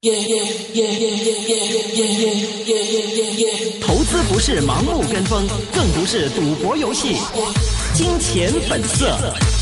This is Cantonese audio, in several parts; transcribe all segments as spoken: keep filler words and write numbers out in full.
投资不是盲目跟风，更不是赌博游戏。金钱本色。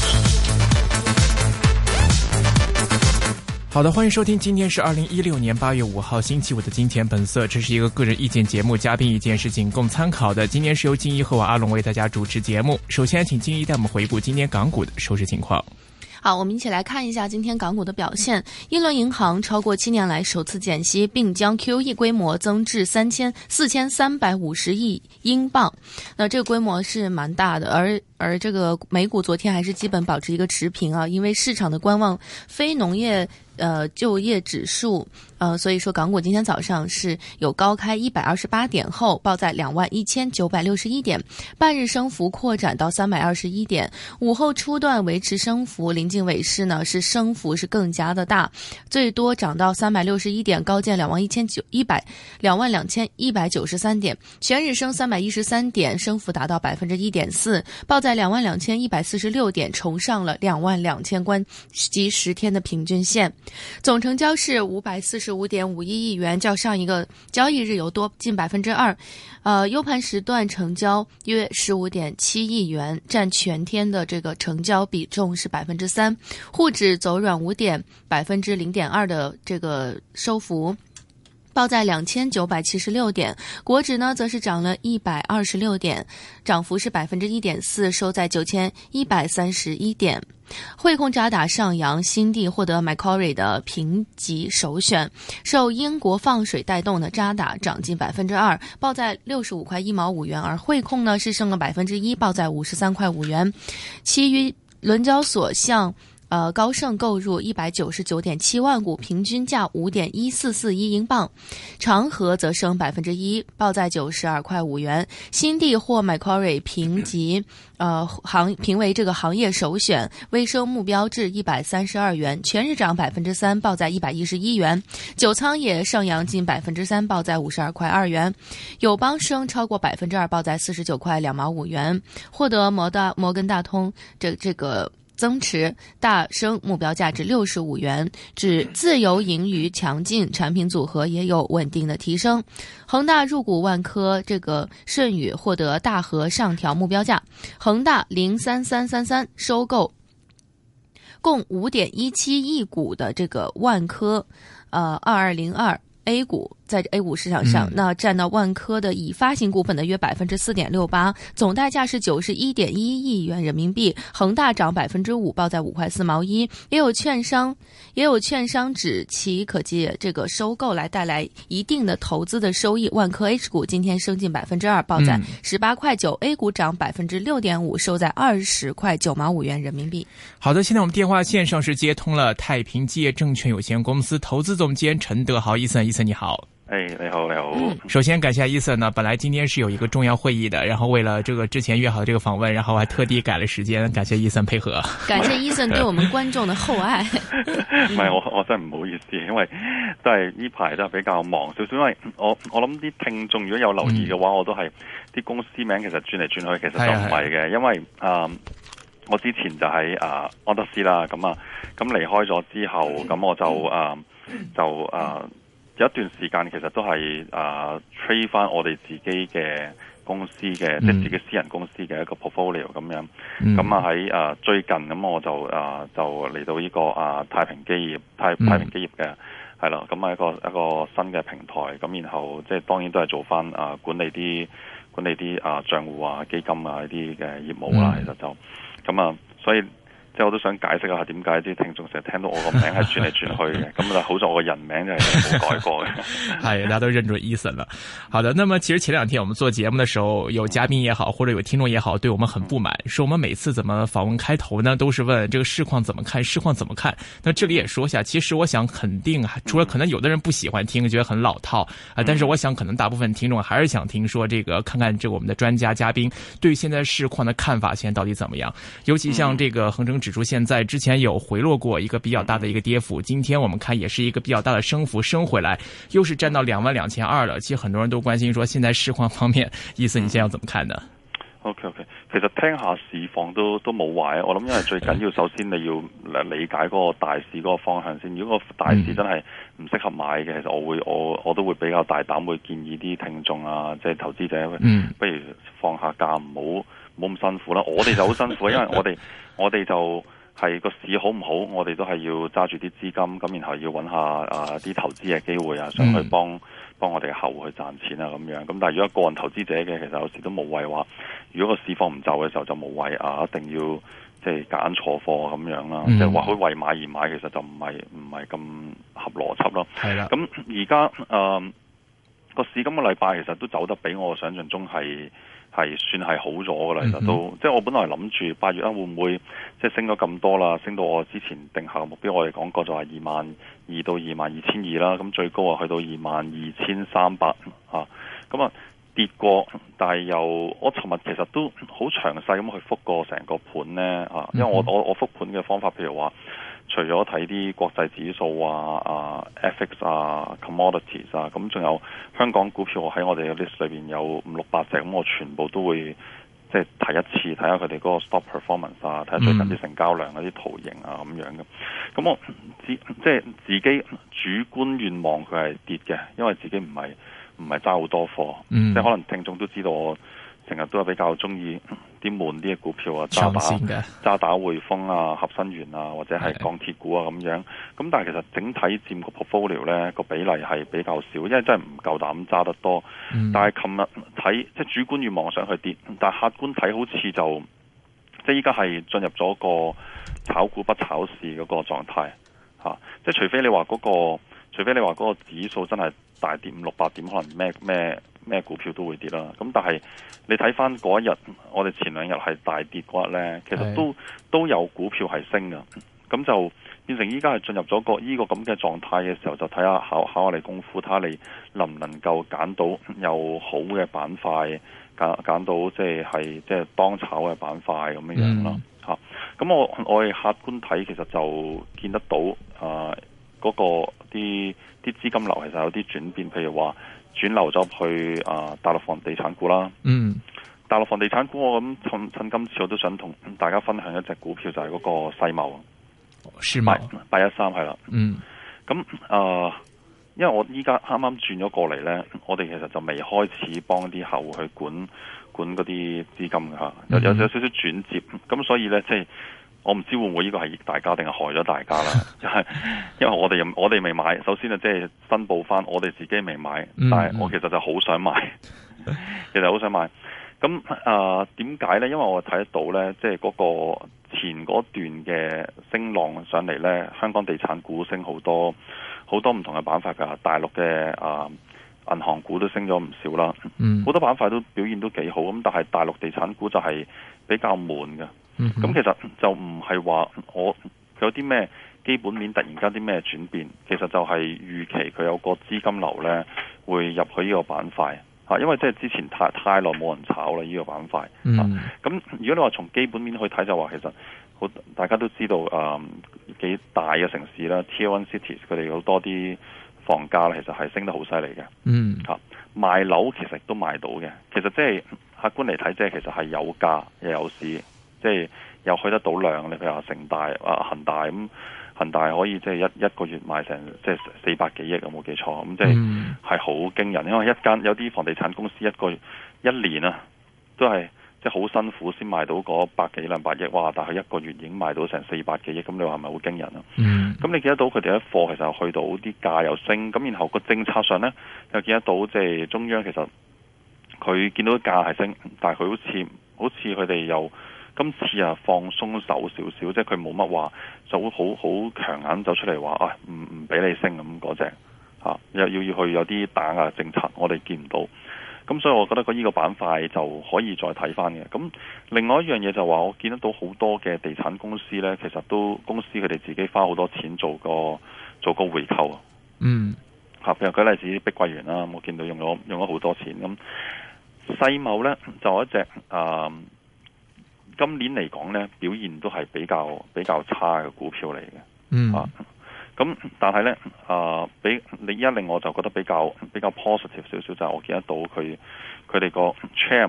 好的，欢迎收听，今天是二零一六年八月五号星期五的金钱本色，这是一个个人意见节目，嘉宾意见是仅供参考的。今天是由金一和我阿龙为大家主持节目。首先请金一带我们回顾今天港股的收市情况。 好，我们一起来看一下今天港股的表现。一轮银行超过七年来首次减息，并将 Q E 规模增至三千四千三百五十亿英镑。那这个规模是蛮大的，而而这个美股昨天还是基本保持一个持平啊，因为市场的观望非农业呃就业指数，呃，所以说港股今天早上是有高开一百二十八点后报在两万一千九百六十一点，半日升幅扩展到三百二十一点，午后初段维持升幅，临近尾市呢是升幅是更加的大，最多涨到三百六十一点，高见两万一千九一百两万两千一百九十三点，全日升三百一十三点，升幅达到百分之一点四，报在两万两千一百四十六点，重上了两万两千关及十天的平均线。总成交是五百四十五点五一亿元，较上一个交易日有多近百分之二。呃，优盘时段成交约十五点七亿元，占全天的这个成交比重是百分之三。沪指走软五点，百分之零点二的这个收幅。报在两千九百七十六点，国指呢则是涨了一百二十六点，涨幅是百分之一点四，收在九千一百三十一点。汇控渣打上扬，新地获得 Macquarie 的评级首选，受英国放水带动的渣打涨近百分之二，报在六十五块一毛五元，而汇控呢是升了百分之一，报在五十三块五元。其余伦交所向呃，高盛购入一百九十九点七万股，平均价五点一四四一英镑。长和则升百分之一，报在九十二块五元。新地获 Macquarie 评级，呃，行评为这个行业首选，微升目标至一百三十二元，全日涨百分之三，报在一百一十一元。九仓也上扬近百分之三，报在五十二块二元。友邦升超过百分之二，报在四十九块两毛五元。获得摩大摩根大通这这个。增持大升目标价值六十五元，指自由盈余强劲，产品组合也有稳定的提升。恒大入股万科，这个舜宇获得大和上调目标价，恒大零三三三三收购共五点一七亿股的这个万科，呃二二零二 A 股。在 A 股市场上，嗯、那占到万科的已发行股本的约百分之四点六八，总代价是九十一点一亿元人民币。恒大涨百分之五，报在五块四毛一。也有券商，也有券商指其可借这个收购来带来一定的投资的收益。万科 H 股今天升近百分之二，报在十八块九、嗯、，A 股涨百分之六点五，收在二十块九毛五元人民币。 好的，现在我们电话线上是接通了太平基业证券有限公司投资总监陈德豪，伊森，伊森你好。 哎，你好，你好。嗯、 首先感谢伊森呢，本来今天是有一个重要会议的，然后为了这个之前约好的这个访问，然后还特地改了时间，感谢伊森配合。 感謝伊森對我們觀眾的厚愛。 唔係我我真係唔好意思，因為都係呢排都係比較忙少少，因為我我諗啲聽眾如果有留意嘅話，嗯、我都係啲公司名其實轉嚟轉去，其實就唔係嘅，因為啊、呃，我之前就喺啊、呃、安德斯啦，咁啊咁離開咗之後，咁我就啊、呃、就啊。呃有一段時間其實都係啊 trade 翻我哋自己嘅公司嘅，即係自己私人公司嘅一個 portfolio 咁樣。咁啊喺啊最近咁我就啊就嚟到呢個啊太平基業太太平基業嘅係啦，咁係一個一個新嘅平台。咁然後即係當然都係做翻啊管理啲管理啲啊帳戶啊基金啊呢啲嘅業務啦。其實就咁啊，所以。即係我都想解釋一下點解啲聽眾成日聽到我個名係轉嚟轉去嘅，咁就好在我個人名就係冇改過嘅。 係，大家都認準伊森了。好的，那麼其實前兩天我們做節目的時候，有嘉賓也好，或者有聽眾也好，對我們很不滿，說我們每次怎麼訪問開頭呢，都是問這個市況怎麼看，市況怎麼看。那這裡也說一下，其實我想肯定，除了可能有的人不喜歡聽，覺得很老套啊，但是我想可能大部分聽眾還是想聽說這個，看看這個我們的專家嘉賓對現在市況的看法現在到底怎麼樣。尤其像這個恆生指數現在之前有回落過一個比較大的一個跌幅，今天我們看也是一個比較大的升幅，升回來又是站到兩萬兩千二了。其實很多人都關心說現在市況方面，意思你現在要怎麼看呢？ OK OK， 其實聽下市況都都冇壞，我諗因為最緊要首先你要理解嗰個大市嗰個方向先。如果個大市真係唔適合買嘅，其實我會我我都會比較大膽，會建議啲聽眾啊，即係投資者， 嗯、 不如放下假，唔好唔好咁辛苦啦。我哋就好辛苦，因為我哋我哋就係個市好唔好，我哋都係要揸住啲資金，咁然後要揾下啊啲投資嘅機會啊，想去幫。嗯幫我哋嘅客戶去賺錢啊咁樣，咁但係如果個人投資者嘅，其實有時都冇謂話，如果個市況唔就嘅時候就冇謂啊，一定要即係揀錯貨咁樣啦，即係話佢為買而買，其實就唔係唔係咁合邏輯咯。係啦，咁而家誒個市今個禮拜其實都走得比我想象中係。係算係好咗噶啦，其實都、嗯、即係我本來諗住八月啊會唔會即係升咗咁多啦，升到我之前定下嘅目標，我哋講過就係二萬二到二萬二千二啦，咁最高啊去到二萬二千三百啊，咁啊跌過，但係又我尋日其實都好詳細咁去覆過成個盤呢。啊，因為我我我覆盤嘅方法，譬如話。除咗睇啲國際指數啊、啊 F X 啊、commodities 啊，咁仲有香港股票，我喺我哋嘅 list 裏邊有五六百隻，咁我全部都會即係睇一次，睇下佢哋嗰個 stock performance 啊，睇下最近啲成交量嗰啲圖形啊咁樣嘅。咁我自即係自己主觀願望佢係跌嘅，因為自己唔係唔係揸好多貨，嗯、即係可能聽眾都知道我成日都係比較中意啲悶啲嘅股票啊，渣打、渣打匯豐啊、合生元啊，或者係鋼鐵股啊咁樣。咁但係其實整體佔個 portfolio 咧個比例係比較少，因為真係唔夠膽揸得多。嗯、但係琴日睇即係主觀願望上去跌，但係客觀睇好似就即係依家係進入咗個炒股不炒市嗰個狀態嚇。即係除非你話嗰個，除非你話嗰個指數真係大跌五六百點，可能咩咩。咩股票都會跌啦，咁但係你睇翻嗰一日，我哋前兩日係大跌嗰日呢，其實都都有股票係升㗎，咁就變成依家係進入咗個呢個咁嘅狀態嘅時候，就睇下考考下你功夫，睇下你能唔能夠揀到有好嘅板塊，揀揀到即係係即係當炒嘅板塊咁樣樣咯嚇。咁、嗯、我我哋客觀睇，其實就見得到啊嗰、呃那個啲啲資金流其實有啲轉變，譬如話。轉流咗去啊大陸房地產股啦，嗯，大陸房地產股我咁趁趁今次我都想同大家分享一隻股票，就係、是、嗰個世茂，世茂八一三係啦，嗯，咁啊、呃，因為我依家啱啱轉咗過嚟咧，我哋其實就未開始幫啲客戶去管管嗰啲資金嘅吓，有有有少少轉接，咁所以咧即係。我唔知會唔會呢個係益大家定係害咗大家啦，因為因為我哋我哋未買，首先啊即係申報翻，我哋自己未買，但係我其實就好想買，其實好想買。咁啊點解呢？因為我睇得到呢，即係嗰個前嗰段嘅升浪上嚟呢，香港地產股升好多，好多唔同嘅板塊㗎，大陸嘅啊銀行股都升咗唔少啦，好、嗯、多板塊都表現都幾好，咁但係大陸地產股就係比較悶嘅。咁、嗯、其實就唔係話我有啲咩基本面突然間啲咩轉變，其實就係預期佢有個資金流呢會入去呢個板塊嚇，因為即係之前太太耐冇人炒啦呢個板塊。咁、嗯、如果你話從基本面去睇，就話其實好大家都知道誒幾、嗯、大嘅城市啦 Tier One Cities 佢哋好多啲房價其實係升得好犀利嘅。嗯，嚇賣樓其實都賣到嘅，其實即係客觀嚟睇，即係其實係有價又有市。即係又去得到量，你譬如話城大啊、恒大咁，恒大可以即係一一個月賣成即係四百幾億，有冇記錯？咁即係係好驚人，因為一間有啲房地產公司一個月一年啊，都係即係好辛苦先賣到嗰百幾兩百億，哇！但係一個月已經賣到成四百幾億，咁你話係咪好驚人啊？咁、嗯、你見得到佢哋一貨其實去到啲價又升，咁然後個政策上咧又見得到即係中央其實佢見到價係升，但係佢好似好似佢哋又。今次啊放鬆手少少，即係佢冇乜話就好好強硬走出嚟話啊唔唔俾你升咁嗰隻嚇，又要要去有啲打壓政策，我哋見唔到。咁所以我覺得個呢個板塊就可以再睇翻嘅。咁另外一樣嘢就話我見得到好多嘅地產公司呢，其實都公司佢哋自己花好多錢做個做個回購啊。嗯，嚇，譬如舉例子碧桂園啦，我見到用咗用咗好多錢。咁世茂呢，就有一隻啊。呃今年嚟講咧，表現都係比較比較差嘅股票嚟嘅。嗯啊，咁但係咧啊，俾你依家令我就覺得比較比較 positive 少少，就係、是、我見得到佢佢哋個 chairman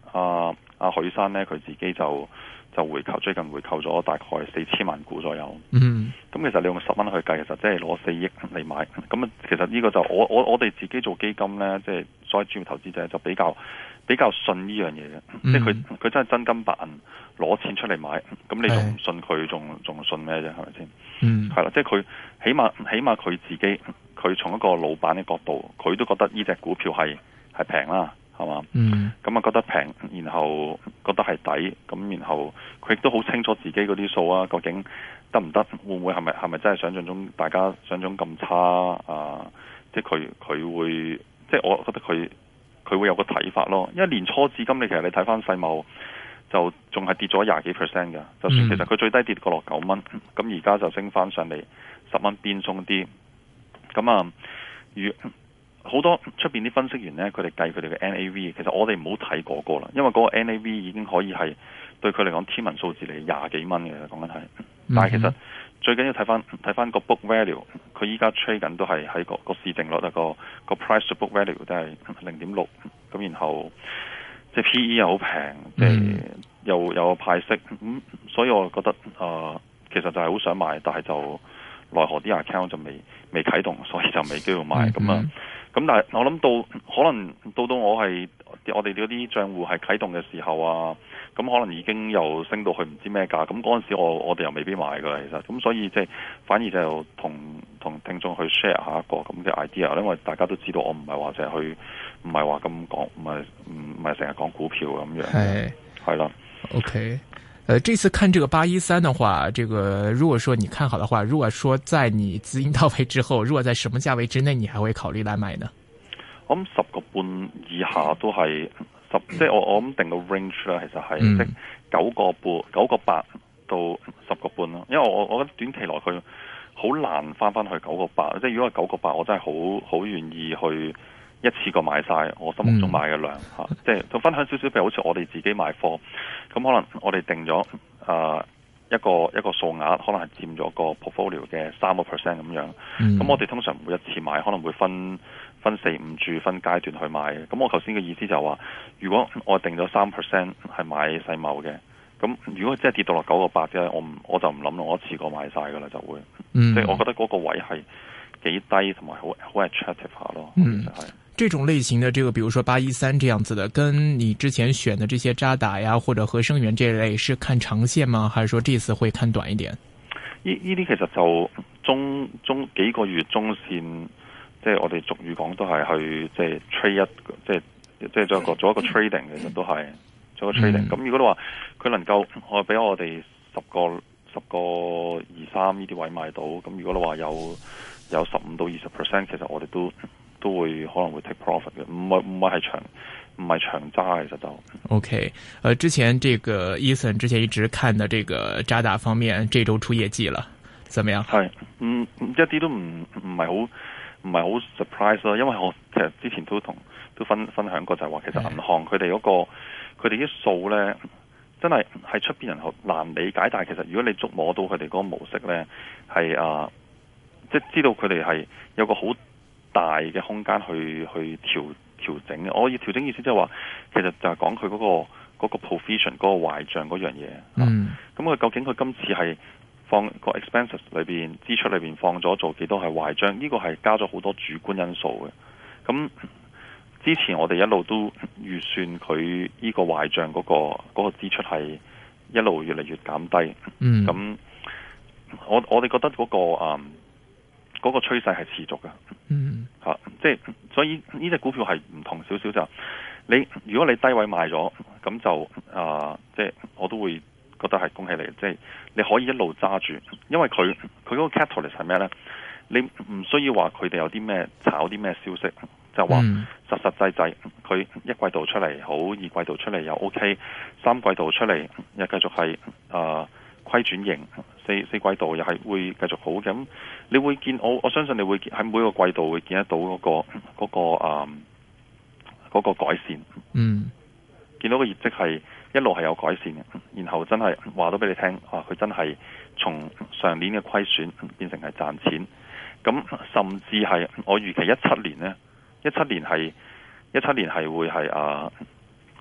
阿阿許生咧，佢自己就就回購，最近回購咗大概四千萬股左右。 嗯， 咁其實你用十蚊去計，其實即係攞四億嚟買。咁其實呢個就我我我哋自己做基金咧，即係所謂專業投資者就比較比較信呢樣嘢嘅，嗯、即係佢佢真係真金白銀攞錢出嚟買，咁你仲唔信佢，仲仲信咩啫？係咪先？ 嗯， 係啦，即係佢起碼起碼佢自己，佢從一個老闆嘅角度，佢都覺得呢隻股票係係平啦，係嘛？嗯，咁啊覺得平，然後覺得係抵，咁然後佢亦都好清楚自己嗰啲數啊，究竟得唔得？會唔會係咪係咪真係想象中大家想象中咁差啊？即係佢佢會，即係我覺得佢佢會有個睇法咯。因為年初至今，你其實你睇翻世貿就仲係跌咗廿幾 percent 嘅。就算其實佢最低跌過落九蚊，咁而家就升翻上嚟十蚊邊鬆啲。咁啊，如好多出邊啲分析員咧，佢哋計佢哋嘅 N A V， 其實我哋唔好睇嗰個啦，因為嗰個 N A V 已經可以係對佢嚟講天文數字嚟，廿幾蚊嘅講緊係。但係其實最緊要睇翻睇翻個 book value， 佢依家 trade 緊都係喺個個市淨率啊，個個 price to book value 都係零點六，咁然後即係 P E 又好平，即係又有派息，咁所以我覺得啊、呃，其實就係好想買，但係就奈何啲 account 就未未啟動，所以就未機會買咁啊。咁但係我諗到可能到到我係我哋嗰啲賬戶係啟動嘅時候啊，咁可能已經又升到去唔知咩價，咁嗰陣時我我哋又未必買噶啦，其實咁所以即係反而就同同聽眾去 share 下一個咁嘅 idea， 因為大家都知道我唔係話淨係去唔係話咁講，唔係唔係成日講股票咁樣，係係啦。 OK。呃，這次看這個八一三的話，這個如果說你看好的話，如果說在你資金到位之後，如果在什麼價位之內，你還會考慮來買呢？ 我諗十個半以下都係十，即係我我諗定個 range 啦，其實係、嗯、即九個半、九個八到十個半咯。因為我我覺得短期內佢好難翻翻去九個八，即係如果係九個八，我真係好好願意去一次過買晒我心目中買嘅量吓、嗯，即係就分享少少，譬如好似我哋自己買貨，咁可能我哋定咗誒、呃、一個一個數額，可能係佔咗個 portfolio 嘅三個 percent 咁樣。咁、嗯、我哋通常每一次買，可能會分分四五注分階段去買嘅。咁我頭先嘅意思就係話，如果我定咗三 percent 係買世貿嘅，咁如果真係跌到落九個八啫，我唔我就唔諗咯，我一次過買晒噶啦就會。嗯、即係我覺得嗰個位係幾低，同埋好好 attractive 下咯。嗯，就係。 這種類型的這個，比如說八一三這樣子的，跟你之前選的這些渣打呀或者合生元這類，是看長線嗎？還是說這次會看短一點？ 呢呢啲其實就中中幾個月中線，即係我哋俗語講都係去即係 trade 一，即係即係做一個做一個 trading，其實都係做一個 trading。咁、嗯、如果你話佢能夠我俾我哋十個十個二三呢啲位買到，咁如果你話有有十五到二十 percent， 其實我哋都。都會可能會 take profit 嘅，唔係唔係係長唔係長揸，其實就 OK。呃，之前這個 Ethan 之前一直看的這個渣打方面，這周出業績了，怎麼樣？ 係，嗯，一啲都唔唔係好唔係好 surprise 咯，因為我其實之前都同都分分享過，就係話其實銀行佢哋嗰個佢哋啲數咧，真係係出邊人好難理解，但係其實如果你捉摸到佢哋嗰個模式咧，係啊，即係知道佢哋係有個好大嘅空間去去調調整嘅，我要調整意思即係話，其實就係講佢嗰個嗰個 provision 嗰個壞賬嗰樣嘢。嗯，咁佢究竟佢今次係放個 expenses 裏邊支出裏邊放咗做幾多係壞賬？呢個係加咗好多主觀因素嘅。咁之前我哋一路都預算佢呢個壞賬嗰個嗰個支出係一路越嚟越減低。嗯，咁我我哋覺得嗰個啊。嗰、那個趨勢係持續嘅，嗯，嚇、啊，即係所以呢隻股票係唔同少少就，你如果你低位買咗，咁就啊，即係我都會覺得係恭喜你，即係你可以一路揸住，因為佢佢嗰個 catalyst 係咩咧？你唔需要話佢哋有啲咩炒啲咩消息，就話實實際際佢一季度出嚟好，二季度出嚟又 OK，三季度出嚟又繼續係啊。虧轉型，四四季度又係會繼續好嘅，咁你會見我我相信你會喺每個季度會見得到嗰、那個嗰、那個啊嗰、那個改善，嗯，見到個業績係一路係有改善嘅，然後真係話到俾你聽，啊佢真係從上年嘅虧損變成係賺錢，咁甚至係我預期一七年呢，一七年係一七年係會係啊。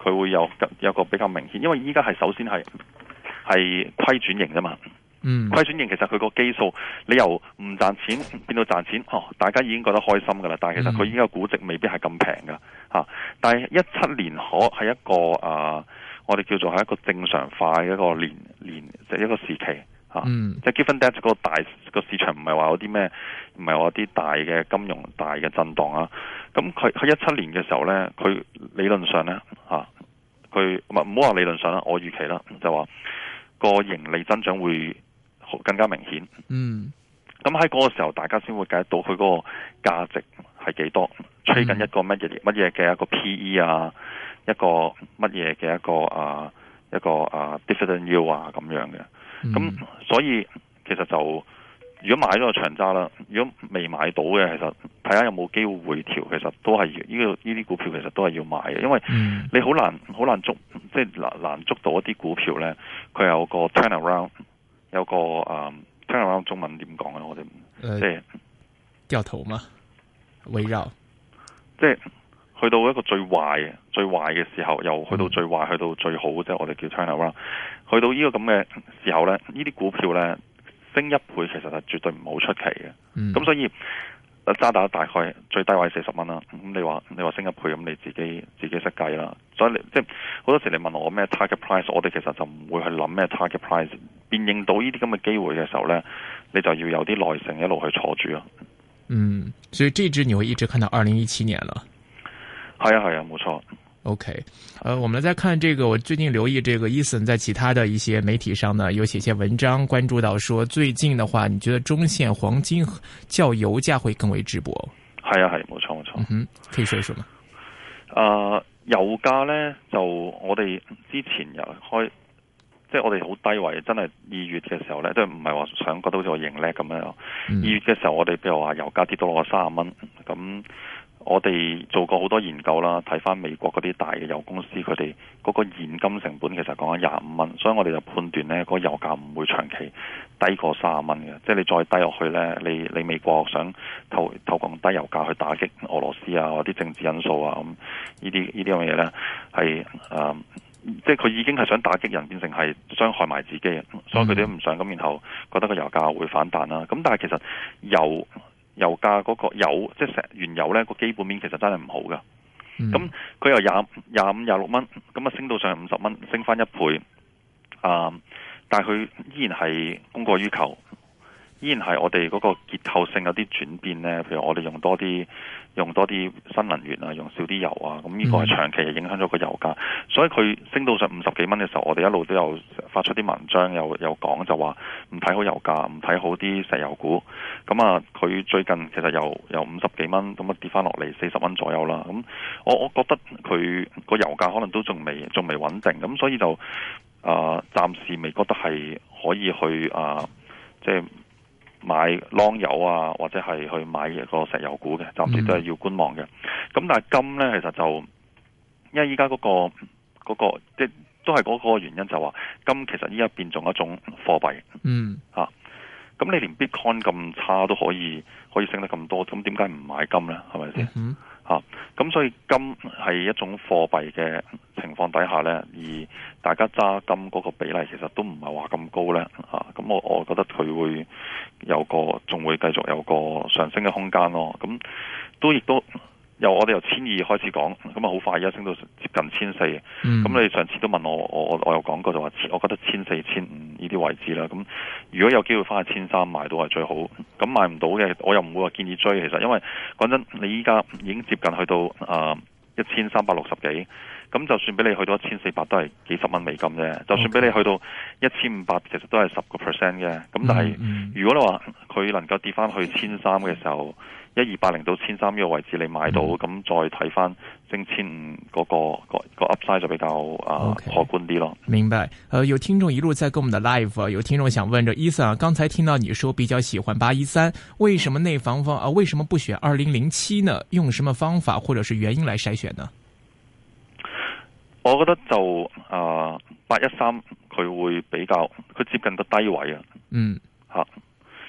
佢會有有個比較明顯，因為依家係首先係係虧轉型啫嘛。 嗯， 虧轉型其實佢個基數，你由唔賺錢變到賺錢，哦，大家已經覺得開心噶啦。但係其實佢依家估值未必係咁平噶嚇。但係一七年可係一個啊、呃，我哋叫做係一個正常化嘅一個年年即係、就是、一個時期嚇。 嗯， 即係 given that 嗰個大個市場唔係話有啲咩，唔係話啲大嘅金融大嘅震盪啊。咁佢喺一七年嘅時候咧，佢理論上咧嚇，佢唔唔好話理論上啦，我預期啦就話個盈利增長會更加明顯， 嗯， 咁喺嗰個時候，大家先會計到佢嗰個價值係幾多，吹緊一個乜嘢乜嘢嘅一個 P E 啊，一個乜嘢嘅一個啊一個啊 dividend yield 啊咁樣嘅，咁、嗯、所以其實就如果買咗個長揸啦，如果未買到嘅，其實睇下有冇機會回調，其實都係呢、這個呢啲股票其實都係要買嘅，因為你好難好難捉，即係難難捉到一啲股票咧，佢有個 turnaround。有個誒，聽下中文點講啊？我哋即係掉頭嘛，圍繞， 即係去到一個最壞、最壞嘅時候，又去到最壞，去到最好，即係我哋叫 turnaround。去到呢個咁嘅時候咧，呢啲股票咧升一倍，其實係絕對唔好出奇嘅。咁、嗯、所以渣打大概最低位四十蚊啦。咁你話你話升一倍，咁你自己自己識計啦。所以你即係好多時你問我咩 target price， 我哋其實就唔會去諗咩 target price。辨認到呢啲咁嘅機會嘅時候咧，你就要有啲耐性一路去坐住咯。 嗯，所以這支你會一直看到二零一七年了。 係啊係啊，冇錯。 OK，呃，我們再看這個，我最近留意這個 Ethan 在其他的一些媒體上呢，有寫些文章，關注到說最近的話，你覺得中線黃金較油價會更為值博？係啊係，冇錯冇錯。 嗯哼，可以說一說嗎？ 誒、呃，油價咧就我哋之前又開。即係我哋好低位，真係二月嘅時候咧，即係唔係話想覺得好似我贏叻咁樣。二、嗯、月嘅時候，我哋譬如話油價跌到落三十蚊，咁我哋做過好多研究啦，睇翻美國嗰啲大嘅油公司，佢哋嗰個現金成本其實講緊廿五蚊，所以我哋就判斷咧，嗰個油價唔會長期低過三十蚊嘅。即係你再低落去咧，你你美國想透透過低油價去打擊俄羅斯啊，或啲政治因素啊，咁呢啲呢啲咁嘅嘢咧，係誒。呃即係佢已經係想打擊人，變成係傷害埋自己，所以佢哋都唔想咁，然後覺得個油價會反彈啦。咁但係其實油油價嗰個油，即係石原油咧個基本面其實真係唔好噶。咁、嗯、佢由廿廿五廿六蚊，咁啊升到上五十蚊，升翻一倍。啊、嗯！但係佢依然係供過於求。依然係我哋嗰個結構性有啲轉變咧，譬如我哋用多啲用多啲新能源啊，用少啲油啊，咁呢個係長期係影響咗個油價。所以佢升到上五十幾蚊嘅時候，我哋一路都有發出啲文章，有有講就話唔睇好油價，唔睇好啲石油股。咁啊，佢最近其實由由五十幾蚊咁啊跌翻落嚟四十蚊左右啦。咁我我覺得佢個油價可能都仲未仲未穩定，咁所以就啊、呃、暫時未覺得係可以去啊、呃、即係。買 long 油啊，或者係去買一個石油股嘅，暫時都係要觀望嘅。咁、嗯、但係金咧，其實就因為依家嗰個嗰、嗰個即係都係嗰個原因，就話金其實依家變做一種貨幣。嗯，嚇、啊。咁你連 Bitcoin 咁差都可以可以升得咁多，咁點解唔買金咧？係咪先？嗯。嚇，咁所以金係一種貨幣嘅情況底下咧，而大家揸金嗰個比例其實都唔係話咁高咧。嚇，咁我我覺得佢會有個仲會繼續有個上升嘅空間咯。咁都亦都由我哋由千二開始講，咁啊好快而家升到接近千四。咁你上次都問我，我我有講過就話，我覺得千四千五呢啲位置啦。咁如果有機會翻去千三買到係最好。咁買唔到嘅，我又唔會話建議追。其實因為講真，你依家已經接近去到啊一千三百六十幾，咁就算俾你去到一千四百都係幾十蚊美金啫。就算俾你去到一千五百，其實都係十個 percent 嘅。咁但係、嗯嗯、如果你話佢能夠跌翻去千三嘅時候，一二八零到千三呢個位置你買到，咁、嗯、再睇翻升千五嗰個個個 upside 就比較啊可觀啲咯。 明白。呃，有聽眾一路在跟我們的 live， 有聽眾想問着 Ethan 啊，剛才聽到你說比較喜歡八一三，為什麼內房方啊？為什麼不選二零零七呢？用什麼方法或者是原因來篩選呢？ 我覺得就啊八一三佢會比較佢接近個低位啊。嗯，吓。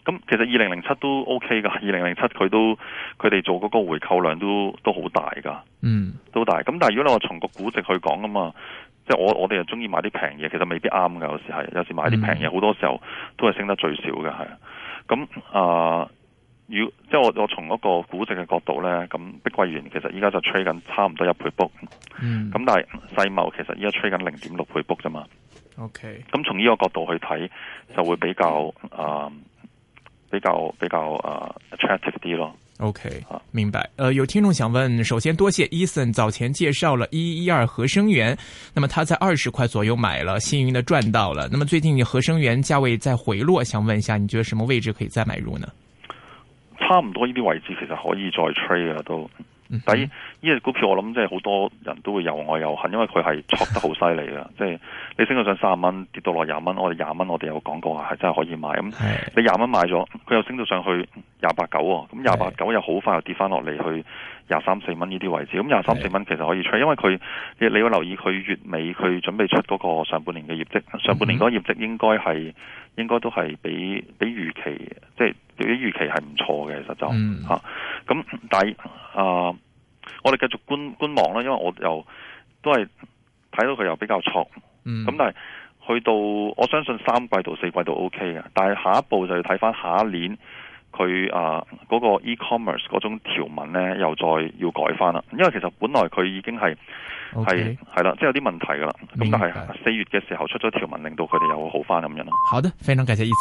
咁其實二零零七都 OK 噶，二零零七佢都佢哋做嗰個回購量都都好大噶， 嗯， 都大。咁但係如果你話從個估值去講啊嘛，即係我我哋又中意買啲平嘢，其實未必啱噶，有時係有時買啲平嘢，好、嗯、多時候都係升得最少嘅，係。咁啊、呃，如即係我我從嗰個估值嘅角度咧，咁碧桂園其實依家就 trade 緊差唔多一倍 book，嗯，咁但係世茂其實依家 trade 緊零點六倍 book 啫嘛。OK， 咁從呢個角度去睇，就會比較啊、呃、比較比較啊、呃、attractive 啲咯。 OK， 明白。呃，有聽眾想問，首先多謝 Ethan 早前介紹了一一二合生元，那麼他在二十塊左右買了，幸運的賺到了。那麼最近合生元價位在回落，想問一下，你覺得什麼位置可以再買入呢？ 差唔多呢啲位置其實可以再 trade 啊都。但係呢隻股票我諗即係好多人都會又愛又恨，因為佢係挫得好犀利㗎。即係你升到上三十蚊，跌到落廿蚊，我哋廿蚊我哋有講過係真係可以買。咁你廿蚊買咗，佢又升到上去廿八九喎，咁廿八九又好快又跌翻落嚟去廿三四蚊呢啲位置。咁廿三四蚊其實可以 trade，因為佢你你要留意佢月尾佢準備出嗰個上半年嘅業績，上半年嗰個業績應該係應該都係比比預期即係比預期係唔錯嘅，其實就嚇咁、嗯，但係啊、呃，我哋繼續觀觀望啦，因為我又都係睇到佢又比較錯，咁、嗯、但係去到我相信三季度四季度 OK 嘅，但係下一步就要睇翻下一年佢啊嗰個 e-commerce 嗰種條文咧，又再要改翻啦，因為其實本來佢已經係係係啦，即係有啲問題噶啦，咁但係四月嘅時候出咗條文，令到佢哋又好翻咁樣咯。 好的，非常感謝。